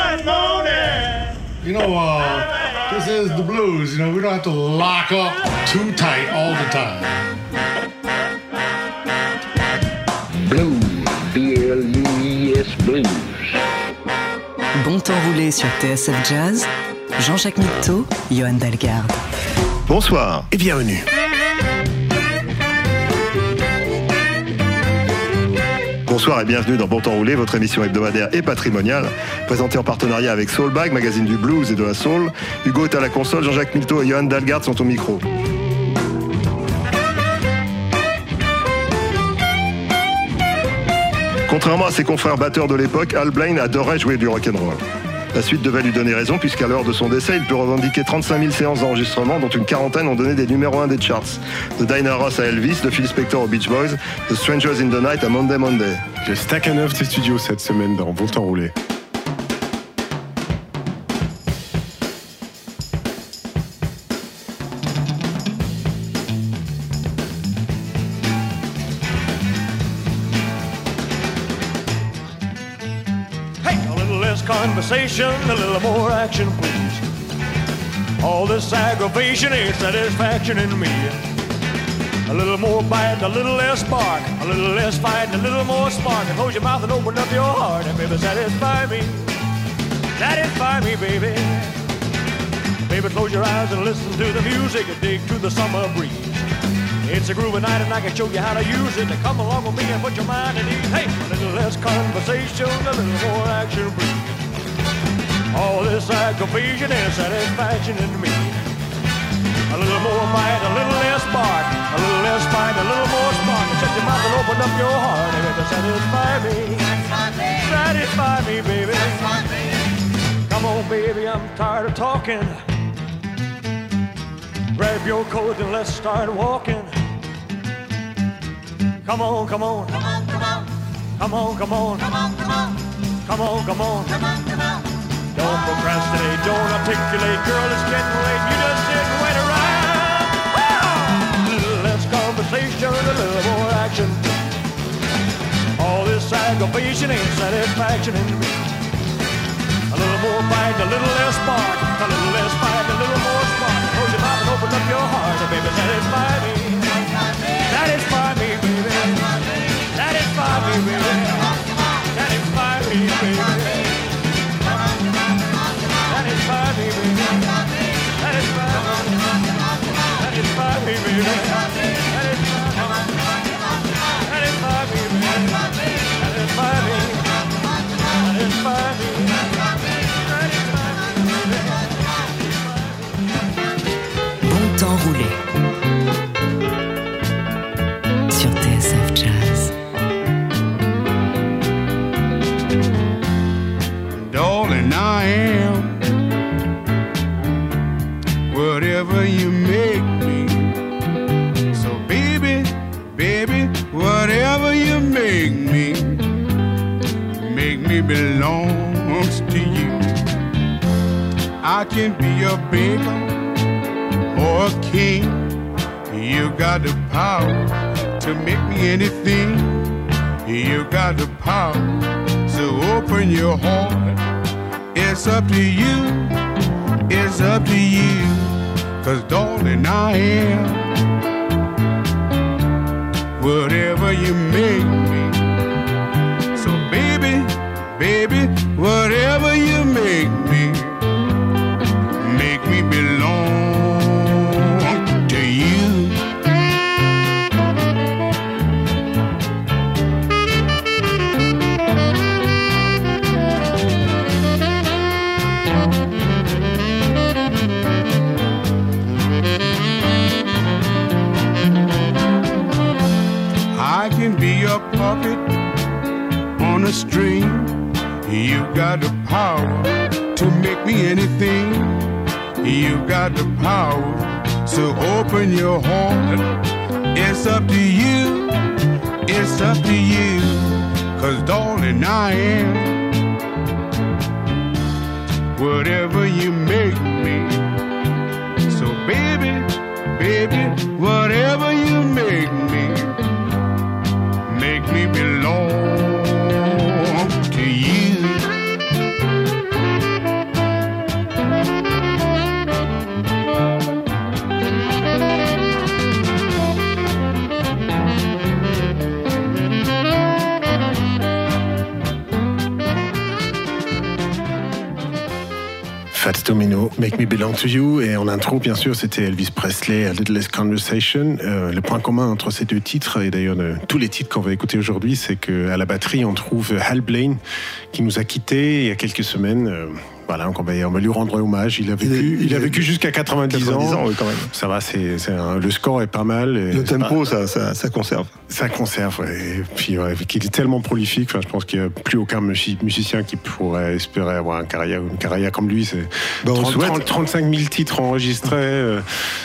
You know, this is the blues. You know, we don't have to lock up too tight all the time. Blues, B-L-U-I-S, blues. Bon temps roulé sur TSF Jazz, Jean-Jacques Mitteau, Johan Dalgarde. Bonsoir et bienvenue. Bonsoir et bienvenue dans Bon Temps Roulé, votre émission hebdomadaire et patrimoniale, présentée en partenariat avec Soulbag, magazine du blues et de la soul. Hugo est à la console, Jean-Jacques Milteau et Johan Dalgarde sont au micro. Contrairement à ses confrères batteurs de l'époque, Al Blaine adorait jouer du rock'n'roll. La suite devait lui donner raison puisqu'à l'heure de son décès, il peut revendiquer 35 000 séances d'enregistrement dont une quarantaine ont donné des numéros 1 des charts. De Diana Ross à Elvis, de Phil Spector aux Beach Boys, de Strangers in the Night à Monday Monday. J'ai Stakhanov ses studios cette semaine dans Bon Temps Roulé. Conversation, a little more action, please. All this aggravation ain't satisfaction in me. A little more bite, a little less spark, a little less fight, a little more spark. And close your mouth and open up your heart, and baby, satisfy me. Satisfy me, baby. Baby, close your eyes and listen to the music and dig to the summer breeze. It's a groovy night and I can show you how to use it. To come along with me and put your mind at ease. Hey, a little less conversation, a little more action, please. All this aggravation and satisfaction in me. A little more bite, a little less spark, a little less fight, a little more spark. Shut your mouth and open up your heart and it'll satisfy me. Satisfy me, baby. Come on, baby, I'm tired of talking. Grab your coat and let's start walking. Come on, come on. Come on, come on. Come on, come on. Come on, come on. Come on, come on. Come on, come on. Don't procrastinate, don't articulate, girl, it's getting late. You just sit and wait around. A little less conversation, a little more action. All this aggravation ain't satisfaction in me. A little more bite, a little less spark, a little less fight, a little more spark. Close your mouth and open up your heart, and baby, satisfy me. Satisfy me, baby. Satisfy me, baby. Satisfy me, baby. Satisfy me, baby. Satisfy me, baby. Satisfy me, baby. Satisfy me. Satisfy me. Bon temps roulé sur TSF Jazz. Darling, I am whatever you make me. So baby, baby, whatever you make me belongs to you. I can be a beggar or a king. You got the power to make me anything. You got the power, so open your heart. It's up to you, it's up to you. 'Cause darling, I am whatever you make me. So baby, baby, whatever you make me belong to you. I can be a puppet on a string. You got the power to make me anything. You got the power, so open your heart. It's up to you, it's up to you. 'Cause darling, I am whatever you make me. So baby, baby, whatever you make me belong to you. Fats Domino, Make Me Belong to You, et en intro, bien sûr, c'était Elvis Presley, A Little Less Conversation. Le point commun entre ces deux titres, et d'ailleurs tous les titres qu'on va écouter aujourd'hui, c'est qu'à la batterie, on trouve Hal Blaine, qui nous a quittés il y a quelques semaines. Voilà, donc on va lui rendre hommage. Il a vécu jusqu'à 90 ans. Oui, quand même. Ça va, le score est pas mal. Le tempo, ça conserve. Ça conserve, ouais. Et puis, ouais, il est tellement prolifique. Enfin, je pense qu'il n'y a plus aucun musicien qui pourrait espérer avoir une carrière comme lui. C'est 35 000 titres enregistrés,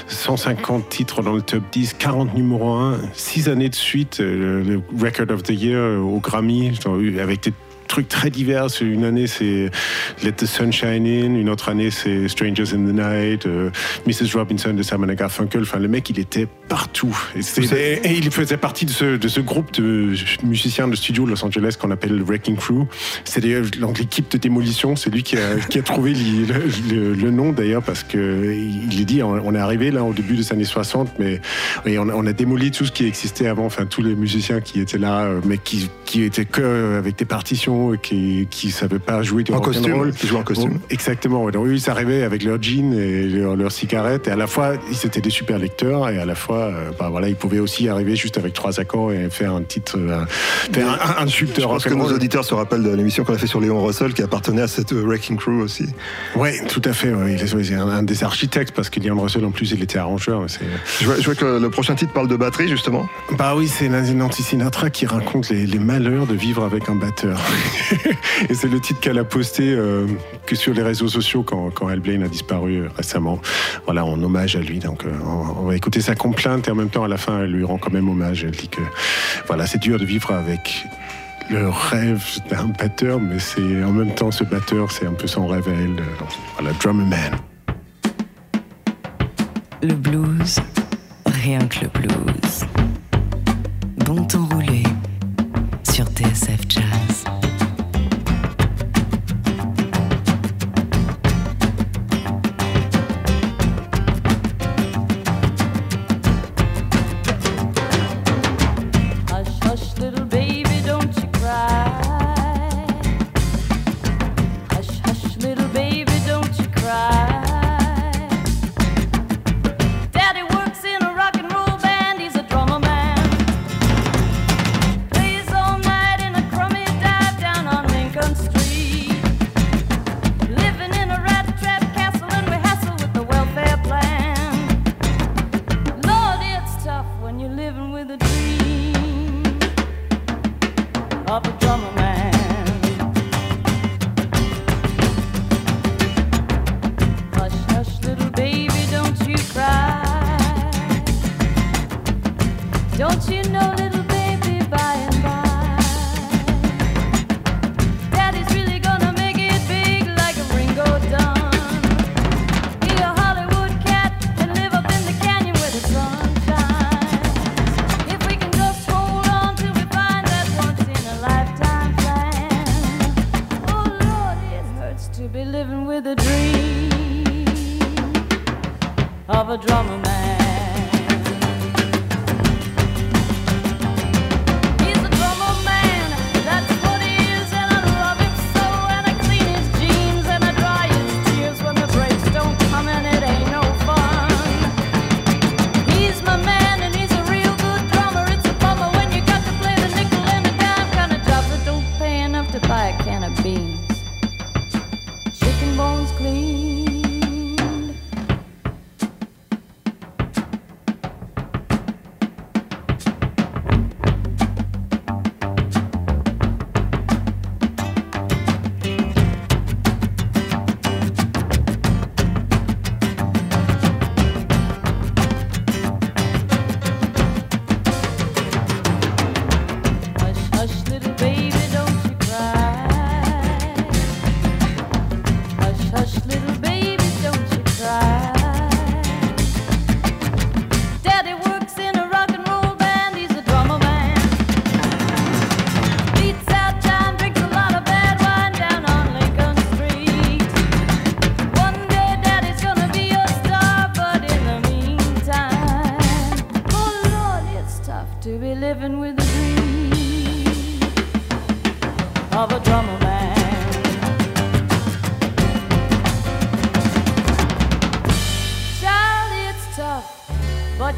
150 titres dans le top 10, 40 numéros 1, 6 années de suite, le Record of the Year au Grammy, avec des trucs très divers. Une année c'est Let the Sun Shine In, une autre année c'est Strangers in the Night, Mrs. Robinson de Simon & Garfunkel. Enfin, le mec, il était partout. Et il faisait partie de ce groupe de musiciens de studio de Los Angeles qu'on appelle le Wrecking Crew. C'est d'ailleurs l'équipe de démolition. C'est lui qui a trouvé le nom d'ailleurs, parce que il est dit, on est arrivé là au début des années 60, mais on a démoli tout ce qui existait avant. Enfin, tous les musiciens qui étaient là, mais qui étaient que avec des partitions, qui savaient pas jouer du rock'n'roll. Qui jouaient en costume. Exactement. Donc, ils arrivaient avec leurs jeans et leurs cigarettes, et à la fois ils étaient des super lecteurs, et à la fois ils pouvaient aussi arriver juste avec 3 accords et faire un titre, un tube de rock'n'roll. Je pense que nos auditeurs se rappellent de l'émission qu'on a fait sur Léon Russell, qui appartenait à cette Wrecking Crew aussi. Oui, tout à fait. Ouais. Il est un des architectes, parce que Léon Russell en plus il était arrangeur. Je vois que le prochain titre parle de batterie, justement. Bah oui, c'est Nancy Sinatra qui raconte les malheurs de vivre avec un batteur. Et c'est le titre qu'elle a posté que sur les réseaux sociaux quand Hal Blaine a disparu récemment. Voilà, en hommage à lui. Donc on va écouter sa complainte, et en même temps à la fin elle lui rend quand même hommage. Elle dit que voilà, c'est dur de vivre avec le rêve d'un batteur, mais c'est en même temps, ce batteur, c'est un peu son rêve à elle. Voilà, Drummer Man. Le blues, rien que le blues. Bon temps roulé sur TSF Jazz.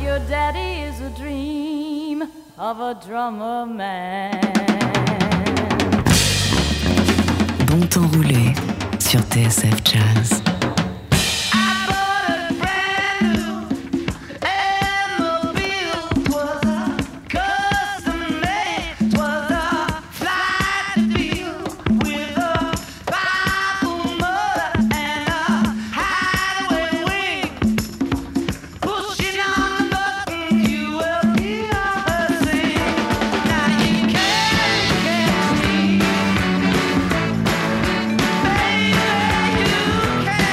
your daddy is a dream of a drummer man. Bon temps roulé sur TSF Jazz. Baby, you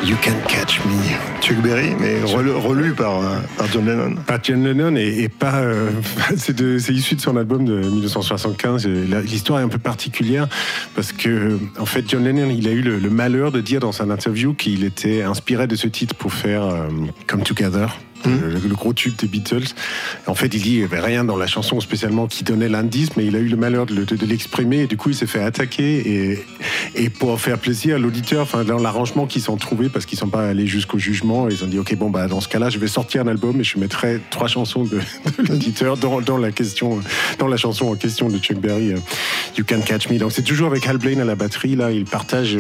You Can Catch Me. Chuck Berry, mais relu par John Lennon. Par John Lennon et pas. C'est issu de son album de 1975. L'histoire est un peu particulière parce que, en fait, John Lennon, il a eu le malheur de dire dans son interview qu'il était inspiré de ce titre pour faire Come Together. Le gros tube des Beatles. En fait, il dit il n'y avait rien dans la chanson spécialement qui donnait l'indice, mais il a eu le malheur de l'exprimer et du coup, il s'est fait attaquer. Et pour faire plaisir à l'auditeur, enfin, dans l'arrangement qu'ils sont trouvés, parce qu'ils ne sont pas allés jusqu'au jugement, ils ont dit ok, bon, bah, dans ce cas-là, je vais sortir un album et je mettrai 3 chansons de l'auditeur dans la chanson en question de Chuck Berry, You Can Catch Me. Donc, c'est toujours avec Hal Blaine à la batterie. Là, il partage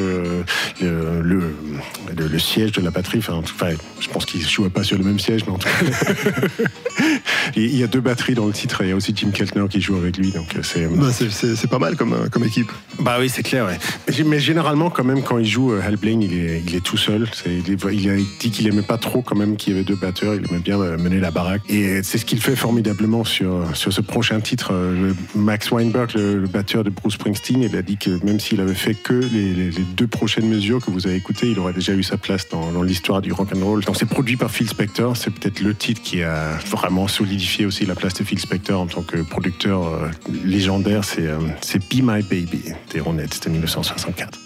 le siège de la batterie. Enfin, je pense qu'ils ne jouaient pas sur le même siège, mais en tout cas. Il y a 2 batteries dans le titre et il y a aussi Jim Keltner qui joue avec lui. Donc c'est pas mal comme équipe. Bah oui, c'est clair. Ouais. Mais généralement, quand même, quand il joue, Hal Blaine, il est tout seul. Il a dit qu'il aimait pas trop quand même qu'il y avait 2 batteurs. Il aimait bien mener la baraque. Et c'est ce qu'il fait formidablement sur ce prochain titre. Max Weinberg, le batteur de Bruce Springsteen, il a dit que même s'il avait fait que les 2 prochaines mesures que vous avez écoutées, il aurait déjà eu sa place dans l'histoire du rock'n'roll. Donc c'est produit par Phil Spector. C'est peut-être le titre qui a vraiment solidifié aussi la place de Phil Spector en tant que producteur légendaire. C'est Be My Baby des Ronettes de 1964.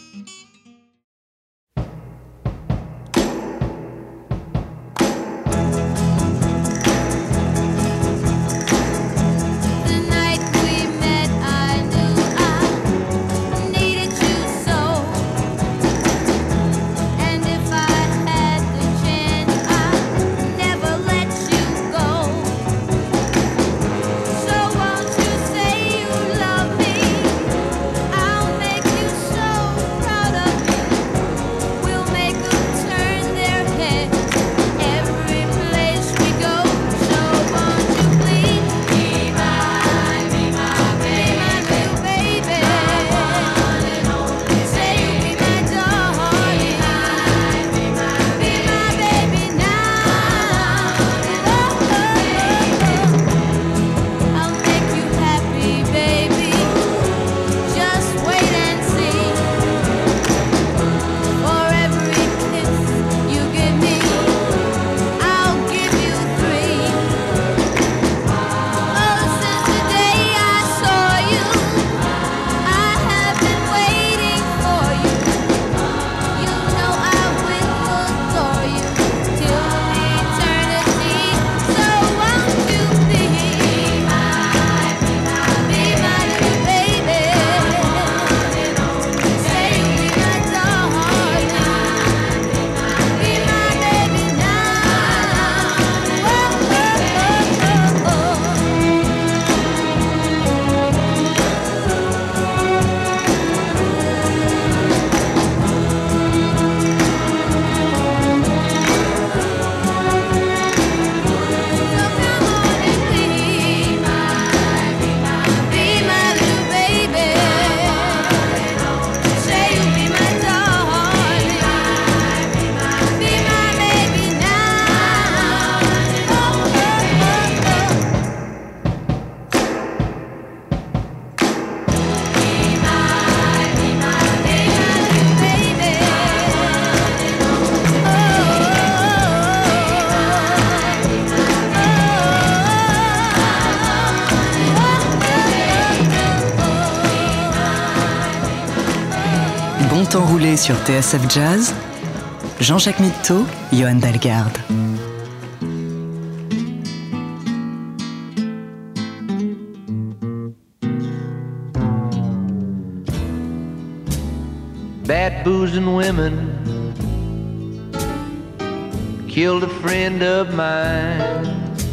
Temps roulé sur TSF Jazz, Jean-Jacques Mitteau, Johan Dalgarde. Bad boozing women killed a friend of mine.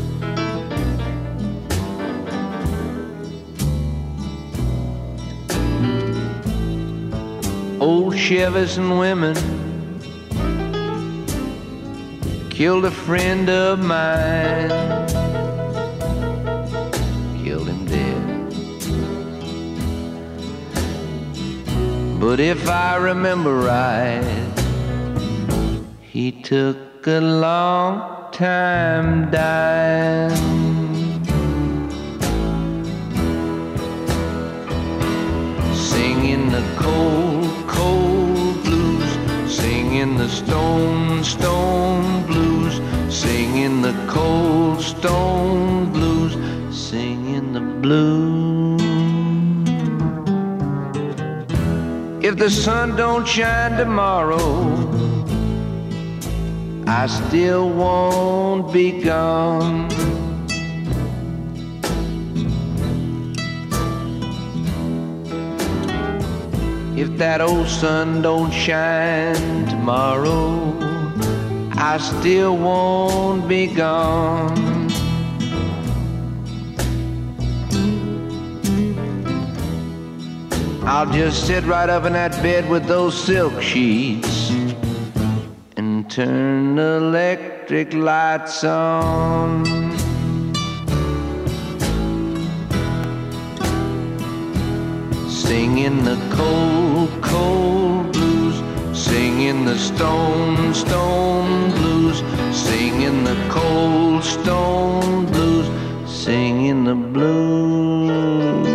Old Chevys and women killed a friend of mine, killed him dead. But if I remember right, he took a long time dying. Singing the cold, cold blues, singing Singing the stone, stone blues, singing the cold stone blues, singing the blues. If the sun don't shine tomorrow, I still won't be gone. If that old sun don't shine tomorrow, I still won't be gone. I'll just sit right up in that bed with those silk sheets and turn the electric lights on. Singing the cold, cold blues, singing the stone, stone blues, singing the cold stone blues, singing the blues.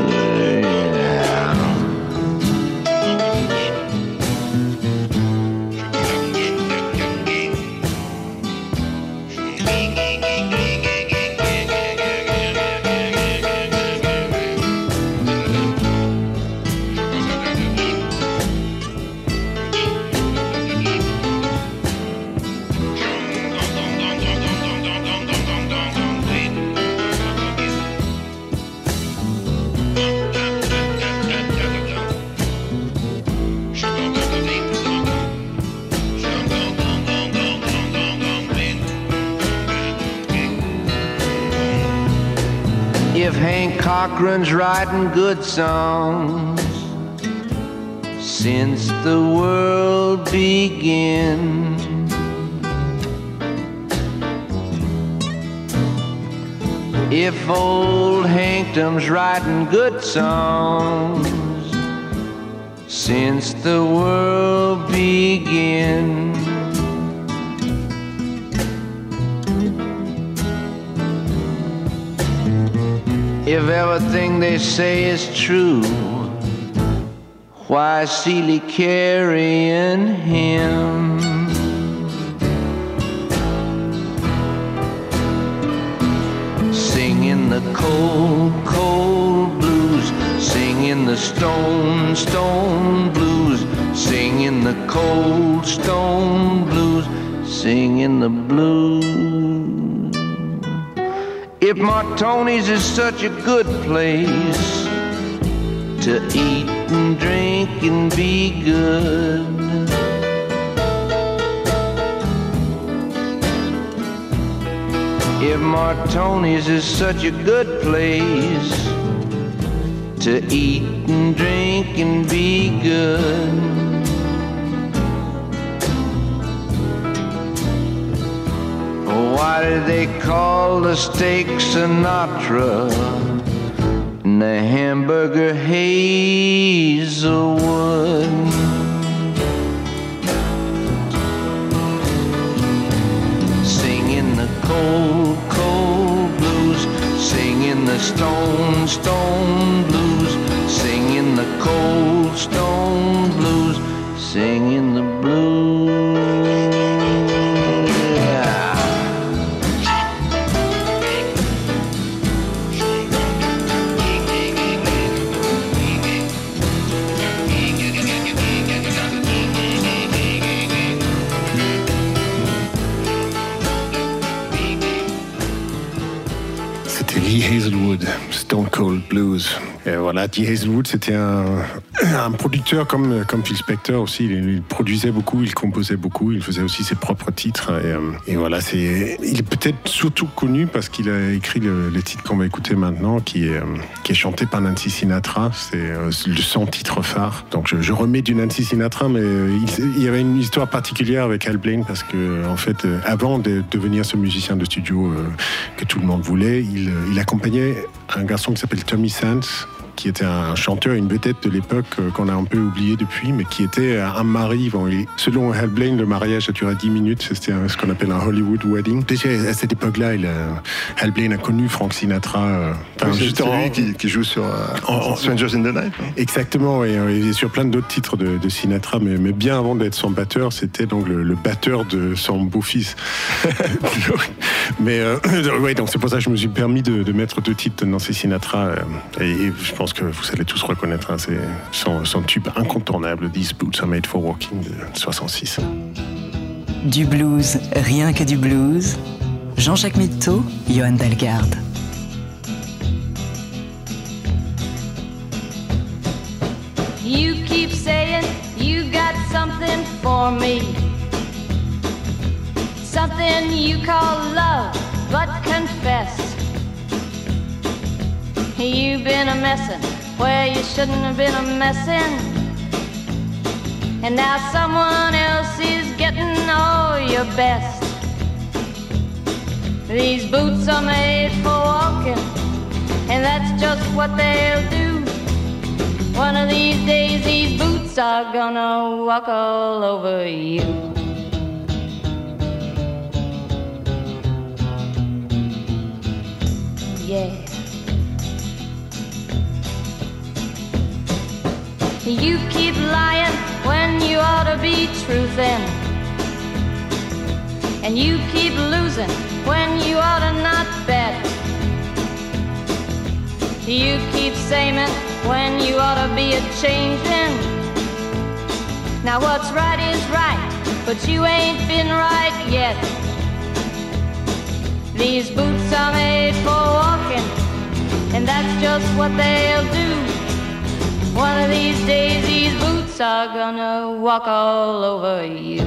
If Hank Cochran's writing good songs since the world began, if old Hankdom's writing good songs since the world began, if everything they say is true, why is Seeley carrying him? Singing the cold, cold blues, singing the stone, stone blues, singing the cold stone blues, singing the blues. If Martoni's is such a good place to eat and drink and be good, if Martoni's is such a good place to eat and drink and be good, why do they call the steak Sinatra and the hamburger Hazelwood? Singing the cold, cold blues, singing the stone, stone blues, singing the cold stone blues, singing the blues. Lee Hazelwood, Stone Cold Blues. Et voilà, Lee Hazelwood, c'était un producteur comme Phil Spector aussi. Il produisait beaucoup, il composait beaucoup, il faisait aussi ses propres titres. Et voilà, il est peut-être surtout connu parce qu'il a écrit le titre qu'on va écouter maintenant, qui est chanté par Nancy Sinatra. C'est son titre phare. Donc je remets du Nancy Sinatra, mais il y avait une histoire particulière avec Al Blaine parce que en fait, avant de devenir ce musicien de studio que tout le monde voulait, il accompagnait un garçon qui s'appelle Tommy Sands, qui était un chanteur, une vedette de l'époque qu'on a un peu oublié depuis, mais qui était un mari. Bon, selon Hal Blaine, le mariage a duré 10 minutes. C'était ce qu'on appelle un Hollywood wedding. Déjà, à cette époque-là, Hal Blaine a connu Frank Sinatra. C'est lui qui joue sur Strangers in the Night. Hein. Exactement, et sur plein d'autres titres de Sinatra, mais bien avant d'être son batteur, c'était donc le batteur de son beau-fils. Mais ouais, donc c'est pour ça que je me suis permis de mettre 2 titres de Nancy Sinatra, et je pense que vous allez tous reconnaître, hein, c'est son tube incontournable, These Boots Are Made for Walking de 66. Du blues, rien que du blues. Jean-Jacques Mitteau, Johan Dalgarde. You keep saying you got something for me, something you call love, but confess you've been a messin' where you shouldn't have been a messin', and now someone else is getting all your best. These boots are made for walking, and that's just what they'll do. One of these days these boots are gonna walk all over you. Yeah. You keep lying when you ought to be truthin', and you keep losing when you ought to not bet. You keep saying when you ought to be a-changin'. Now what's right is right, but you ain't been right yet. These boots are made for walking, and that's just what they'll do. One of these days these boots are gonna walk all over you.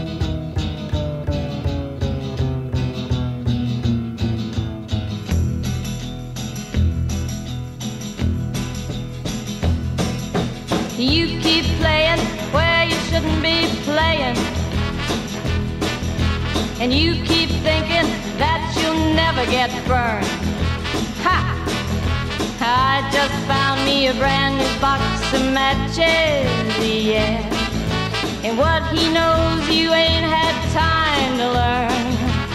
You keep playing where you shouldn't be playing, and you keep thinking that you'll never get burned. Ha! I just found me a brand new box of matches, yeah. And what he knows you ain't had time to learn.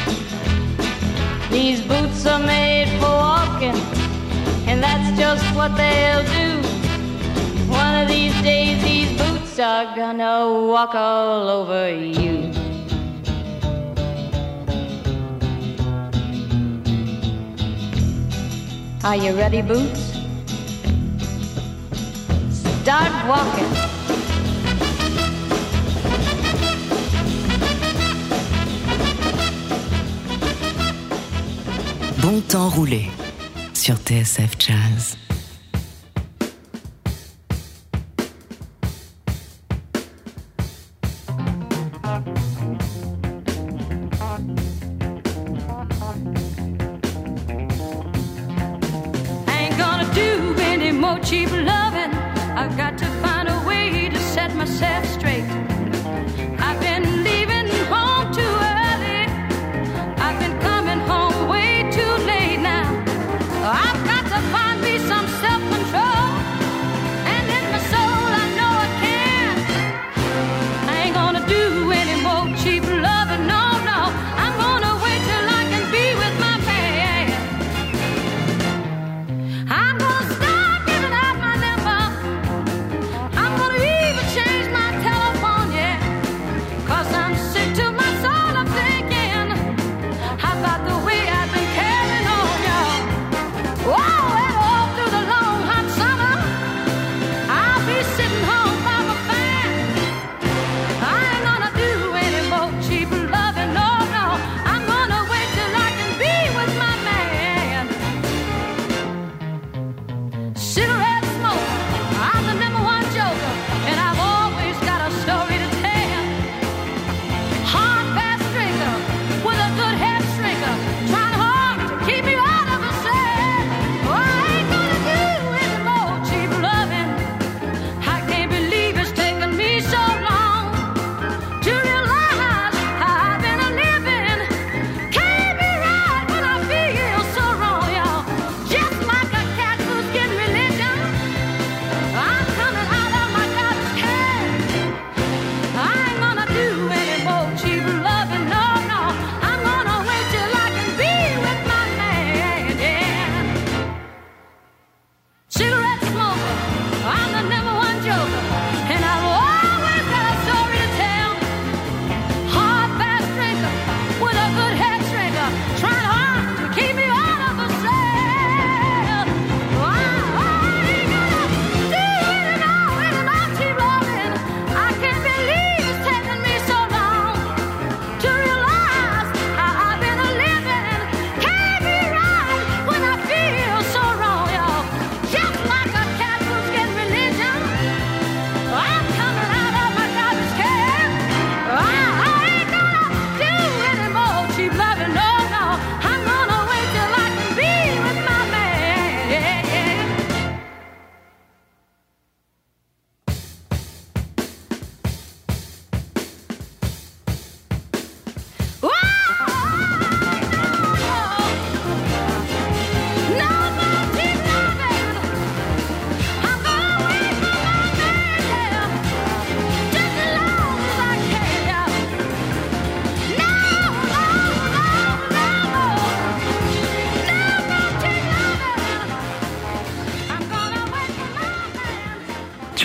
These boots are made for walking, and that's just what they'll do. One of these days these boots are gonna walk all over you. Are you ready, Boots? Start walking. Bon temps roulé sur TSF Jazz. Cheap loving, I've got to find a way to set myself straight. I've been leaving home too early, I've been coming home way too late now. I've got to find me some self-control, and in my soul I know I can. I ain't gonna do any more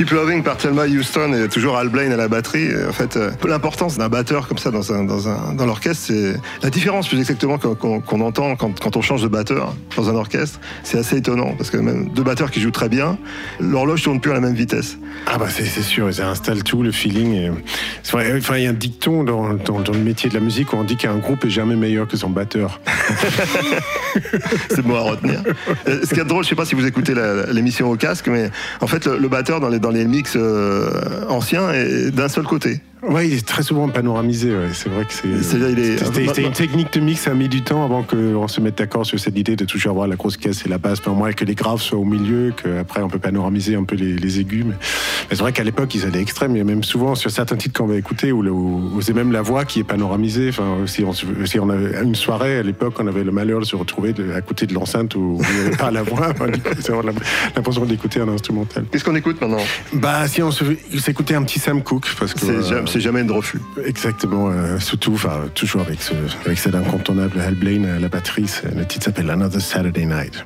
Keep Loving par Thelma Houston et toujours Al Blaine à la batterie. En fait, l'importance d'un batteur comme ça dans l'orchestre, c'est la différence plus exactement qu'on entend quand on change de batteur dans un orchestre. C'est assez étonnant parce que même deux batteurs qui jouent très bien, l'horloge tourne plus à la même vitesse. Ah bah c'est sûr, ça installe tout, le feeling. Et... Enfin, il y a un dicton dans le métier de la musique où on dit qu'un groupe est jamais meilleur que son batteur. C'est bon à retenir. Ce qui est drôle, je sais pas si vous écoutez l'émission au casque, mais en fait le batteur dans les mix anciens est d'un seul côté. Ouais, il est très souvent panoramisé. Ouais. C'est vrai que c'était une technique de mix, ça a mis du temps avant qu'on se mette d'accord sur cette idée de toujours avoir la grosse caisse et la basse, pour moi, que les graves soient au milieu, qu'après on peut panoramiser un peu les aigus. Mais c'est vrai qu'à l'époque, ils allaient extrêmes. Il y a même souvent sur certains titres qu'on va écouter où c'est même la voix qui est panoramisée. Enfin, si on avait une soirée à l'époque, on avait le malheur de se retrouver à côté de l'enceinte où il n'y avait pas la voix. C'est l'impression d'écouter un instrumental. Qu'est-ce qu'on écoute maintenant? Bah, si on s'écoutait un petit Sam Cooke, parce que c'est jamais de refus. Exactement, surtout, toujours avec cet incontournable Al Blaine à la batterie. Le titre s'appelle Another Saturday Night.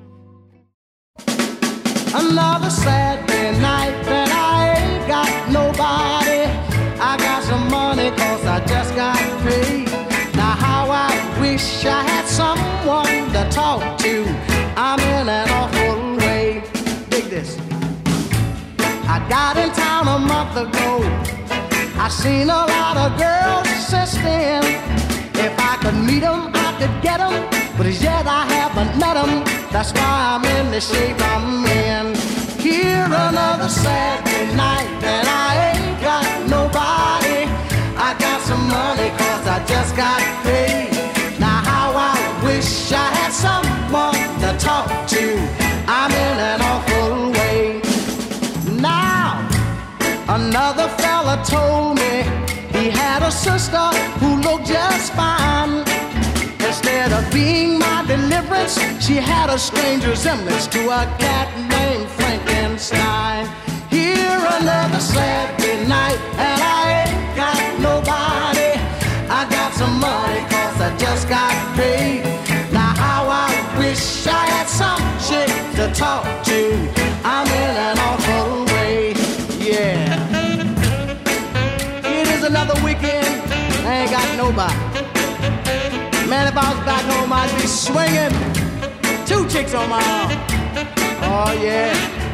Another Saturday night that I ain't got nobody. I got some money 'cause I just got paid. Now how I wish I had someone to talk to. I'm in an awful way. Dig this. I got in town a month ago. I seen a lot of girls since then. If I could meet them, I could get them. But as yet I haven't met them. That's why I'm in the shape I'm in. Here another Saturday night and I ain't got nobody. I got some money 'cause I just got paid. Now how I wish I had someone to talk to. I'm in an awful way. Now another fella told me he had a sister who looked just fine. Instead of being my deliverance, she had a strange resemblance to a cat named Frankenstein. Here another Saturday night and I ain't got nobody. I got some money 'cause I just got paid. Now how I wish I had some chick to talk to. I'm in an awful way, yeah. It is another weekend, I ain't got nobody. Man, if I was back home, I'd be swinging 2 chicks on my arm. Oh, yeah.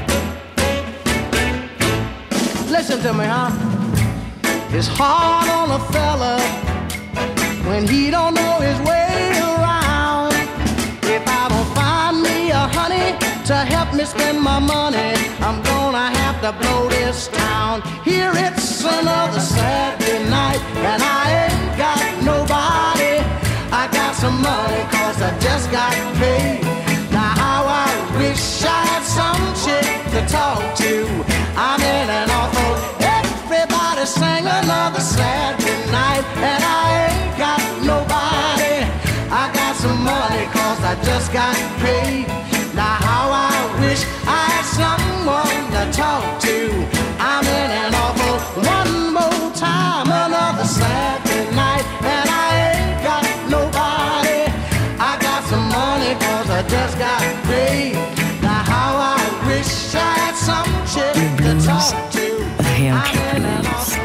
Listen to me, huh? It's hard on a fella when he don't know his way around. If I don't find me a honey to help me spend my money, I'm gonna have to blow this town. Here it's another Saturday night and I ain't got nobody. I got some money 'cause I just got paid. Now how I wish I had some chick to talk to. I'm in an awful. Everybody sang another Saturday night and I ain't got nobody. I got some money 'cause I just got paid. Now how I wish I had someone to talk to. I'm in an awful. One more time, another Saturday night and I ain't got nobody. I got some money 'cause I just got paid. Now how I wish I had some chick to talk to. Rien que le blues.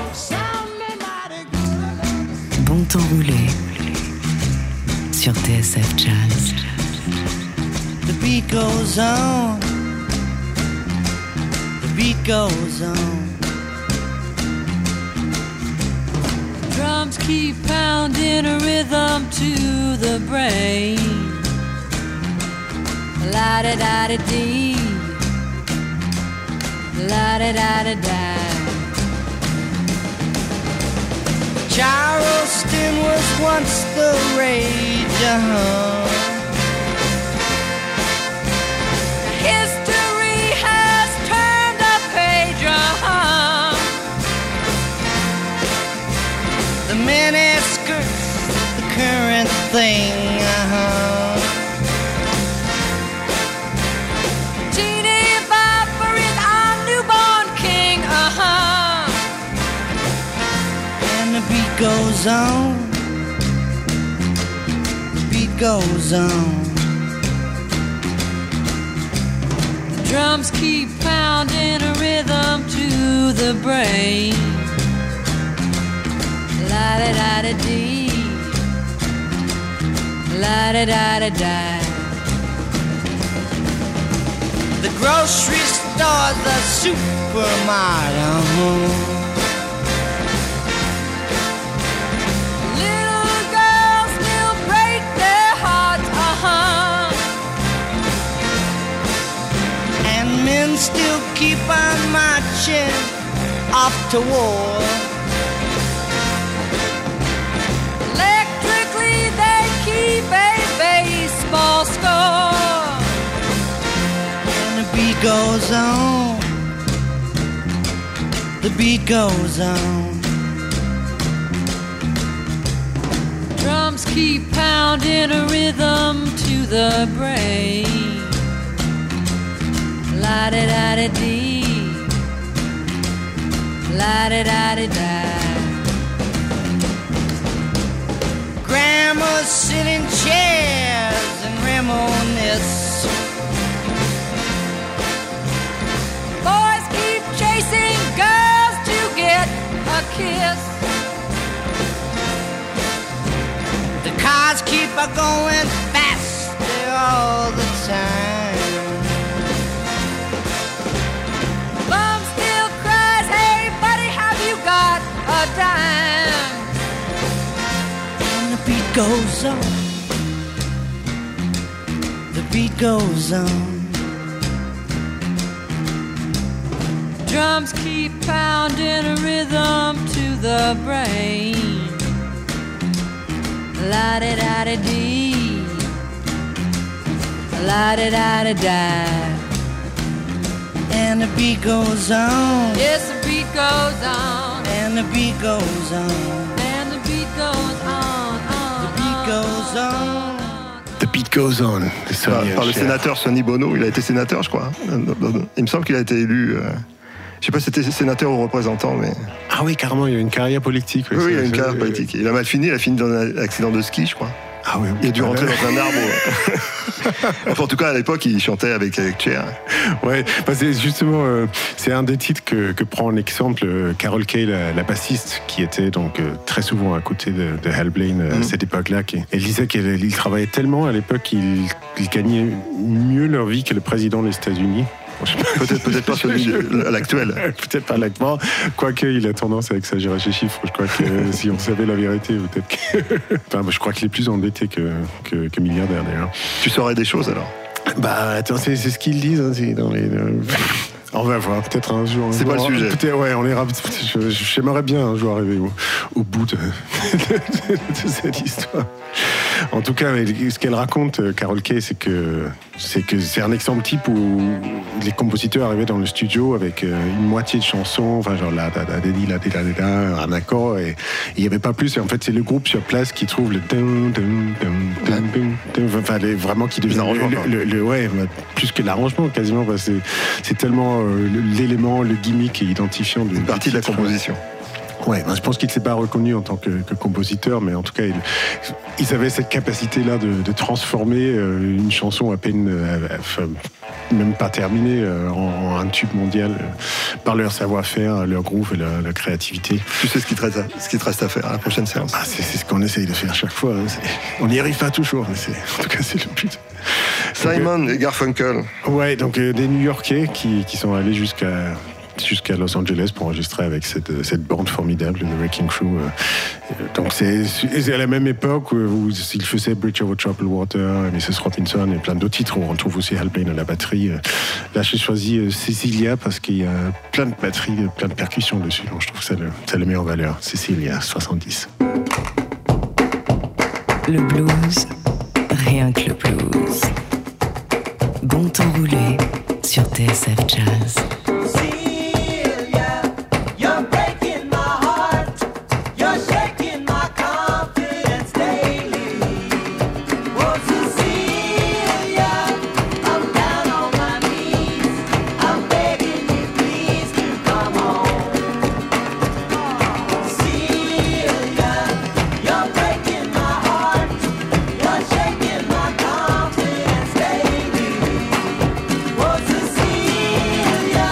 Bon temps roulé sur TSF Jazz. The beat goes on. The beat goes on. Drums keep pounding a rhythm to the brain. La-da-da-da-dee, la-da-da-da-da. Charleston was once the rage, History has turned a page, The miniskirts, the current thing, Teeny Bopper is our newborn king, And the beat goes on. The beat goes on. Drums keep pounding a rhythm to the brain. La-da-da-da-dee, la-da-da-da-da. The grocery store's a supermarket. Little girls still break their hearts, And men still keep on marching off to war. Electrically they keep a baseball score. And the beat goes on. The beat goes on. Drums keep pounding a rhythm to the brain. La-da-da-da-dee, la-da-da-da-da. Grandmas sit in chairs and reminisce. Boys keep chasing girls to get a kiss. The cars keep a going faster all the time. Mom still cries, hey buddy, have you got a dime? And the beat goes on. The beat goes on. Drums keep pounding a rhythm to the brain. La-da-da-da-dee, la-da-da-da-da. And the beat goes on. Yes, the beat goes on. And the beat goes on. And the beat goes on. The beat goes on. The Beat Goes On. Par le sénateur Sonny Bono, il a été sénateur, je crois. Il me semble qu'il a été élu. Je sais pas si c'était sénateur ou représentant, mais. Ah oui, carrément, il a une carrière politique. Oui, il a une carrière politique. Il a mal fini, il a fini dans un accident de ski, je crois. Ah oui, il a dû rentrer dans un arbre. Enfin, en tout cas, à l'époque, il chantait avec Cher. Ouais, c'est justement, c'est un des titres que prend en exemple Carol Kay, la bassiste, qui était donc très souvent à côté de Hal Blaine à cette époque-là. Elle disait qu'il travaillait tellement à l'époque qu'ils gagnaient mieux leur vie que le président des États-Unis. Peut-être pas celui à l'actuel. Peut-être pas l'actuel. Quoique, il a tendance à exagérer ses chiffres. Je crois que si on savait la vérité, peut-être que. Enfin, je crois qu'il est plus endetté que milliardaire d'ailleurs. Tu saurais des choses alors? Bah, attends, c'est ce qu'ils disent. Hein, c'est dans les. On va voir, peut-être un jour. C'est pas le sujet. Ouais, on ira. J'aimerais bien un jour arriver au bout de cette histoire. En tout cas, ce qu'elle raconte, Carol Kay, c'est que c'est un exemple type où les compositeurs arrivaient dans le studio avec une moitié de chanson, enfin genre la un accord, et il n'y avait pas plus. Et en fait, c'est le groupe sur place qui trouve le enfin vraiment qui devient ouais, plus que l'arrangement quasiment. C'est tellement l'élément, le gimmick et identifiant d'une partie de la composition. Ouais, je pense qu'il ne s'est pas reconnu en tant que compositeur, mais en tout cas, ils avaient cette capacité-là de transformer une chanson à peine, même pas terminée, en un tube mondial par leur savoir-faire, leur groove et leur créativité. Tu sais ce qu'il te reste à faire à la prochaine séance? C'est ce qu'on essaye de faire chaque fois. On n'y arrive pas toujours, mais en tout cas, c'est le but. Simon et Garfunkel. Ouais, donc des New-Yorkais qui sont allés jusqu'à Los Angeles pour enregistrer avec cette bande formidable, The Wrecking Crew. Donc c'est à la même époque où il faisait Bridge Over Troubled Water, Mrs. Robinson et plein d'autres titres où on retrouve aussi Hal Blaine à la batterie. Là, j'ai choisi Cecilia parce qu'il y a plein de batteries, plein de percussions dessus. Donc je trouve que ça le met en valeur. Cecilia, 70. Le blues, rien que le blues. Bon temps roulé sur TSF Jazz. Cecilia,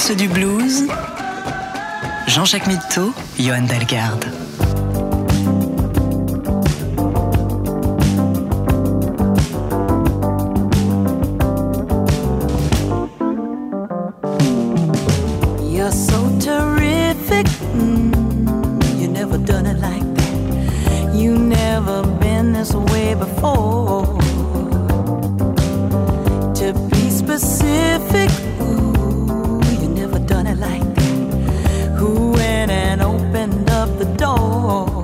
source du blues, Jean-Jacques Mitteau, Johan Dalgarde. You're so terrific. You never done it like that. You never been this way before. To be specific, ooh, you never done it like that. Who went and opened up the door?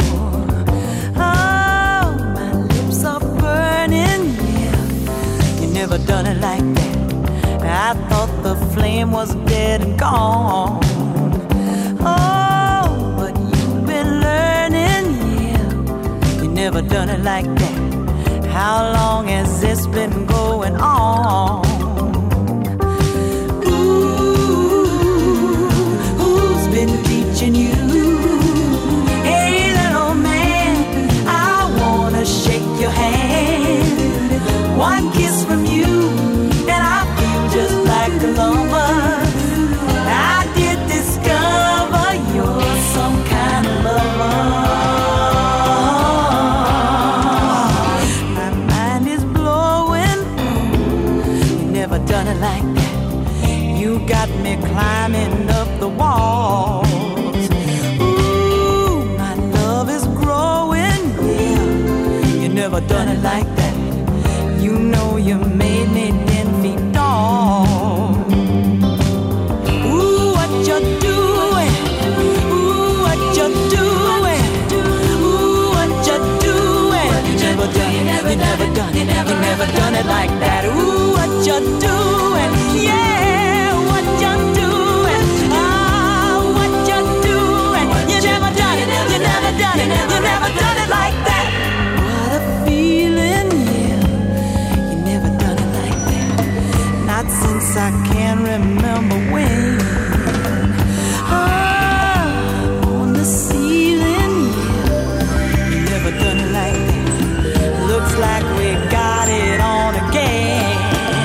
Oh, my lips are burning, yeah. You never done it like that. I thought the flame was dead and gone. Oh, but you've been learning, yeah. You never done it like that. How long has this been going on? Ooh, who's been teaching you? Hey, little man, I wanna shake your hand. One kiss from you, and I feel just like a lover. I did discover you're some kind of lover. My mind is blowing. You never done it like that. You got me climbing up the walls. Ooh, my love is growing. Yeah, you never done it like that. You know you made me 10 feet tall. Ooh, what you doing? Ooh, what you doing? Ooh, what you doing? You never done it, you never done it, you never done it like that. Ooh, what you doing? Yeah, what you doing? Ah, what you doing? You never done it, you never done it, you never done it like that. What a feeling, yeah. You never done it like that. Not since I can remember when. On the ceiling, yeah. You never done it like that. Looks like we got it on again.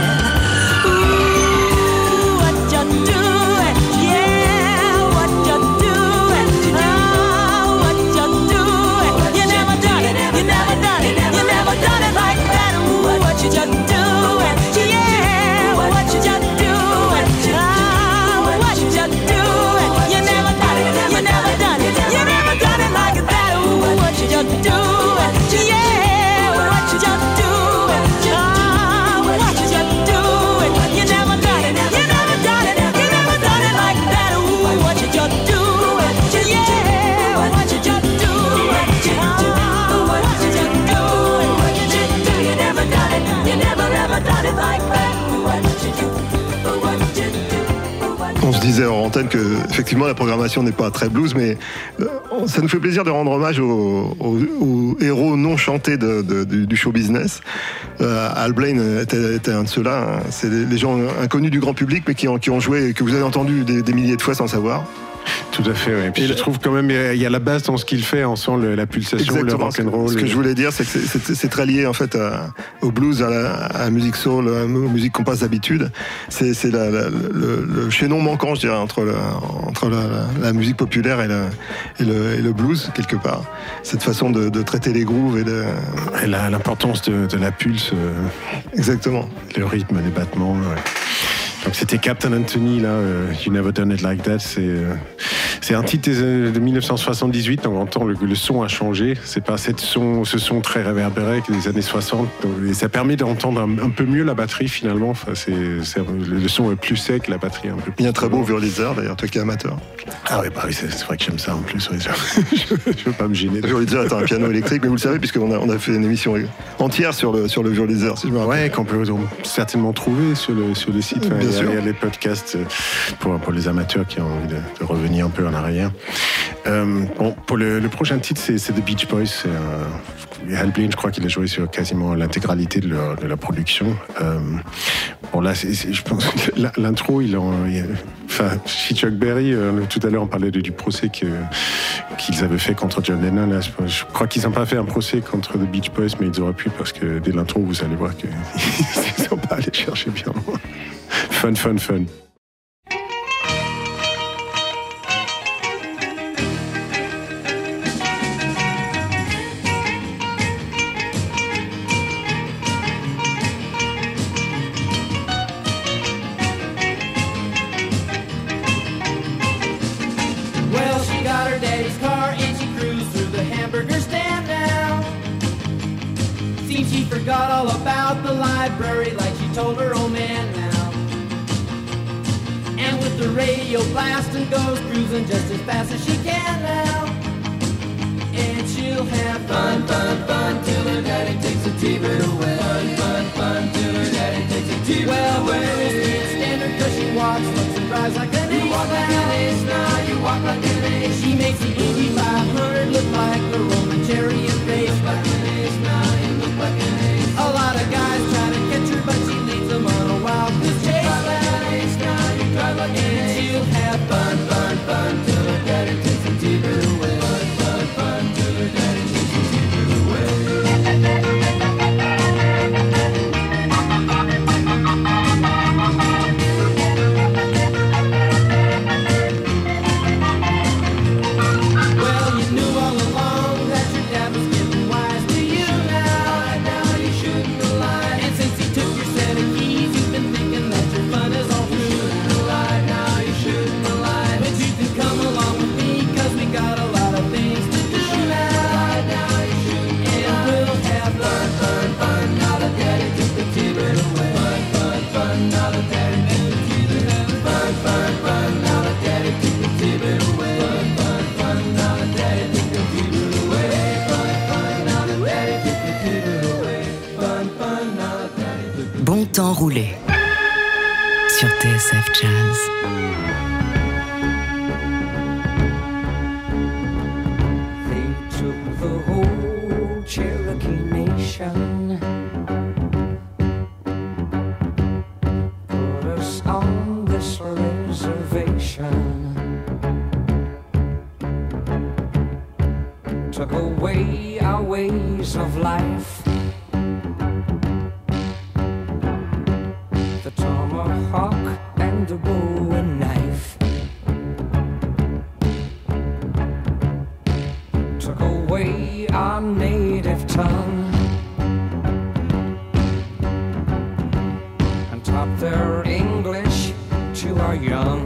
Ooh, what you doing? Yeah, what you doing? Oh, what you doing? You never done it, you never done it, you never done it like that. Ooh, what you just doing? Yeah, what you just doing? Oh, what you just doing? You never done it, you never done it, you never done it like that. Ooh, what you just doing? Yeah, what you just doing? Oh, what you just doing? You never done it, you never done it, you never done it like that. Ooh, what you just doing? Yeah, what you just doing? Oh, what you just doing? What you just do? You never done it, you never ever done it like that. Ooh, what you do? What you do? On se disait en antenne que effectivement la programmation n'est pas très blues, mais ça nous fait plaisir de rendre hommage aux héros non chantés du show business. Al Blaine était un de ceux-là. Hein. C'est les gens inconnus du grand public, mais qui ont joué et que vous avez entendu des milliers de fois sans savoir. Tout à fait, ouais. Et puis je trouve quand même il y a la base dans ce qu'il fait, on sent la pulsation, exactement, le rock'n'roll. Ce que je voulais dire, c'est que c'est très lié en fait au blues, à la musique soul, aux musiques qu'on passe d'habitude. C'est le chaînon manquant, je dirais, entre la musique populaire et le blues quelque part. Cette façon de traiter les grooves et l'importance de la pulse. Exactement. Le rythme, les battements. Ouais. Donc c'était Captain Anthony, là, You Never Done It Like That. C'est un titre de 1978, donc on entend le son a changé. C'est pas ce son très réverbéré des années 60. Et ça permet d'entendre un peu mieux la batterie finalement. Enfin, le son est plus sec, la batterie un peu plus. Il y a un très beau Wurlitzer d'ailleurs, toi qui es amateur. Ah oui, bah oui, c'est vrai que j'aime ça en plus. Ouais, je veux pas me gêner. Wurlitzer est un piano électrique, mais vous le savez, puisqu'on a fait une émission entière sur le Wurlitzer, si je me rappelle. Ouais, qu'on peut certainement trouver sur le site. Enfin, il y a les podcasts pour les amateurs qui ont envie de revenir un peu en arrière. Pour le prochain titre, c'est The Beach Boys. Al Blaine, je crois qu'il a joué sur quasiment l'intégralité de la production. Là, je pense que l'intro, si Chuck Berry, tout à l'heure on parlait du procès qu'ils avaient fait contre John Lennon. Là, je crois qu'ils n'ont pas fait un procès contre The Beach Boys, mais ils auraient pu, parce que dès l'intro, vous allez voir qu'ils ne sont pas allés chercher bien loin. Fun. forgot all about the library like she told her old man now. And with the radio blasting goes cruising just as fast as she can now. And she'll have fun, fun, fun till her daddy takes a T-bird away. Fun, fun, fun till her daddy takes a T-bird away. Well, the girls can't stand her 'cause she walks, looks and drives like an ace. You walk like an ace now, you walk like an ace. She makes the Indy 500 look like the Roman chariot race. Like an ace now, you look like an ace. A lot of guys try to catch her, but she leads them on a wild goose chase. Drive like an ace now, you drive like an ace. And she'll have fun, fun, fun till her daddy takes a T-bird away. Fun, fun, fun till her daddy takes a T-bird away. Well, you knew all along that your dad was getting wise to you now. Now you shouldn't have lied. And since he took your set of keys, you've been thinking that your fun is all through. You shouldn't have lied. Now you shouldn't have lied. But you can come along with me 'cause we got a lot of things to do now. Now you shouldn't have lied. And we'll have fun, fun, fun. Now that daddy took the T-bird away. Fun, fun, fun. Now that daddy took the T-bird away. Fun, fun, fun. Now that daddy took the T-bird away. Fun, fun, fun. Now that daddy took the T-bird away. Fun, fun. Now that daddy took the T-bird away. Fun, fun. Now that daddy took the Bon temps roulé sur TSF Jazz. They took the whole Cherokee Nation, put us on this reservation, took away our ways of life, the tomahawk and the bowie knife. Took away our native tongue and taught their English to our young.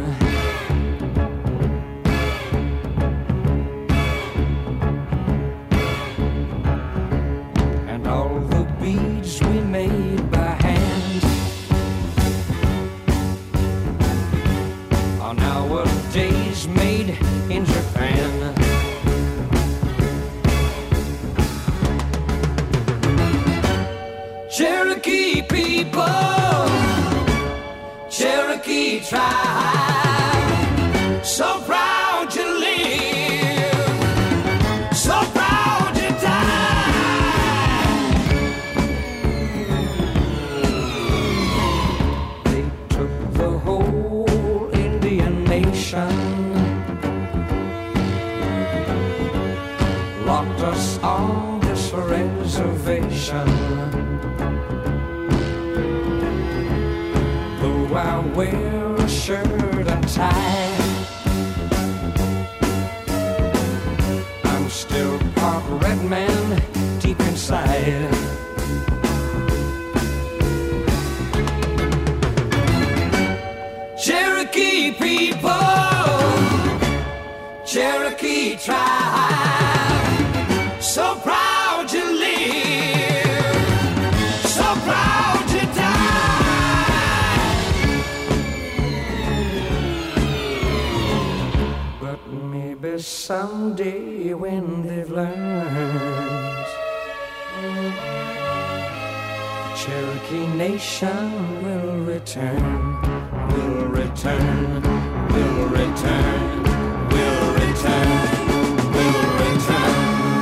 And all the beads we made by hand are nowadays made in Japan. Cherokee people, Cherokee tribe, so proud you live, so proud you die. They took the whole Indian nation, locked us on this reservation. Though I wear a shirt and tie, I'm still part red man deep inside. Cherokee people, Cherokee tribe, so proud you live, so proud you die. But maybe someday when they've learned, the Cherokee nation will return, will return, will return, will return, will return.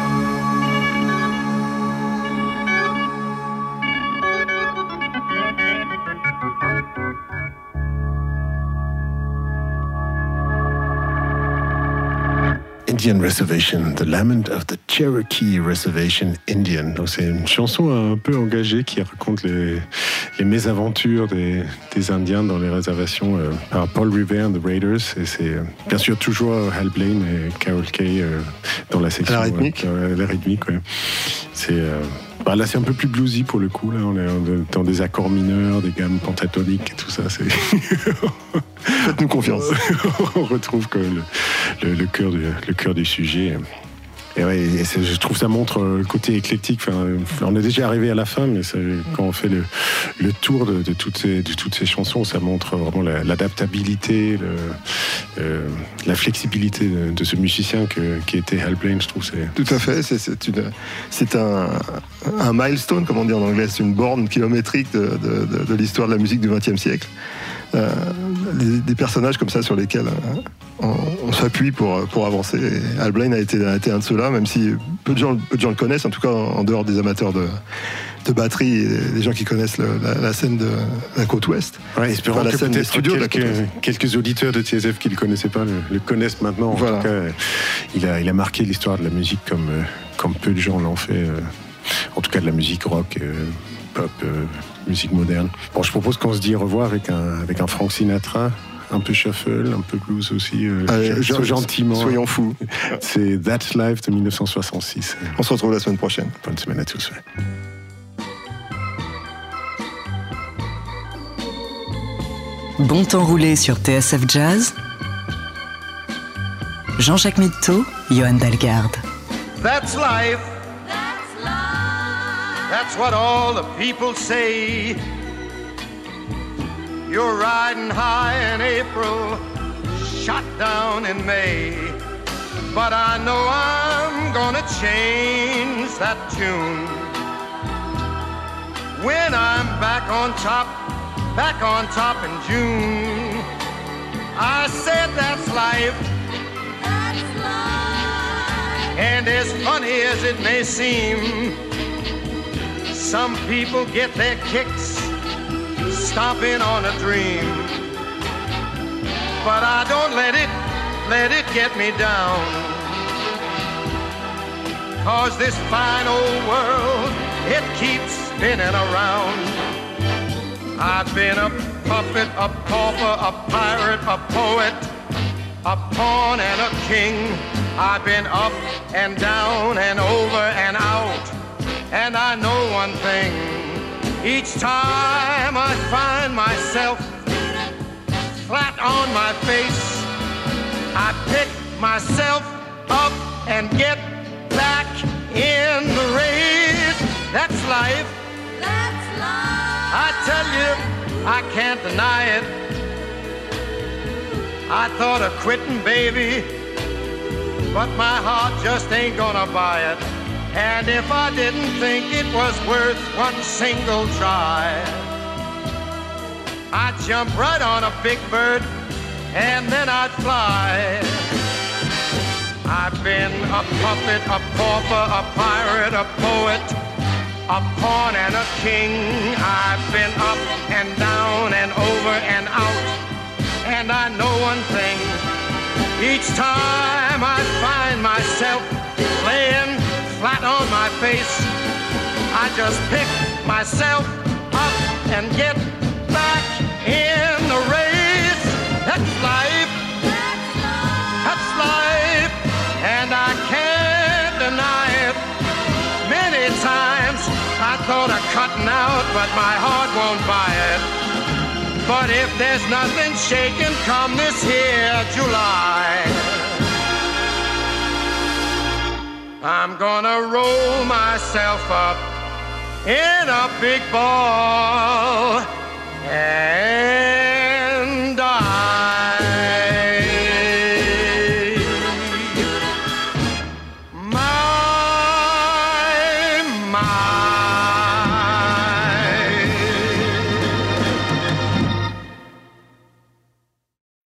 Indian Reservation, The Lament of the Cherokee Reservation Indian. Donc c'est une chanson un peu engagée qui raconte les mésaventures des Indiens dans les réservations par Paul Revere and the Raiders. Et c'est bien sûr toujours Hal Blaine et Carol Kay dans la section. La rythmique. La rythmique, ouais. C'est... là, c'est un peu plus bluesy pour le coup. Là, on est dans des accords mineurs, des gammes pentatoniques et tout ça. C'est... Faites-nous confiance. On retrouve quand même le cœur du sujet. Et ouais, je trouve ça montre le côté éclectique. Enfin, on est déjà arrivé à la fin, mais quand on fait le tour de toutes ces chansons, ça montre vraiment l'adaptabilité, la flexibilité de ce musicien qui était Hal Blaine. Je trouve tout à fait. C'est un milestone, comme on dit en anglais, c'est une borne kilométrique de l'histoire de la musique du XXe siècle. Des personnages comme ça sur lesquels on s'appuie pour avancer. Et Hal Blaine a été un de ceux-là, même si peu de gens le connaissent, en tout cas en dehors des amateurs de batterie et des gens qui connaissent la scène de la côte ouest. Ouais, espérons que peut-être quelques auditeurs de TSF qui ne le connaissaient pas le connaissent maintenant. En tout cas, il a marqué l'histoire de la musique comme peu de gens l'ont fait. En tout cas de la musique rock, pop, musique moderne. Bon, je propose qu'on se dise au revoir avec un Frank Sinatra, un peu shuffle, un peu blues aussi, gentiment. Soyons fous. C'est That's Life de 1966. On se retrouve la semaine prochaine. Bonne semaine à tous. Bon temps roulé sur TSF Jazz. Jean-Jacques Mitteau, Johan Dalgarde. That's life. That's what all the people say. You're riding high in April, shot down in May. But I know I'm gonna change that tune when I'm back on top in June. I said that's life. That's life. And as funny as it may seem, some people get their kicks stomping on a dream. But I don't let it get me down. 'Cause this fine old world, it keeps spinning around. I've been a puppet, a pauper, a pirate, a poet, a pawn and a king. I've been up and down and over and out. And I know one thing, each time I find myself flat on my face, I pick myself up and get back in the race. That's life. That's life. I tell you, I can't deny it. I thought of quitting, baby, but my heart just ain't gonna buy it. And if I didn't think it was worth one single try, I'd jump right on a big bird and then I'd fly. I've been a puppet, a pauper, a pirate, a poet, a pawn and a king. I've been up and down and over and out. And I know one thing, each time I find myself laying flat on my face, I just pick myself up and get back in the race. That's life. That's life. And I can't deny it. Many times I thought of cutting out, but my heart won't buy it. But if there's nothing shaking come this here July, I'm gonna roll myself up in a big ball and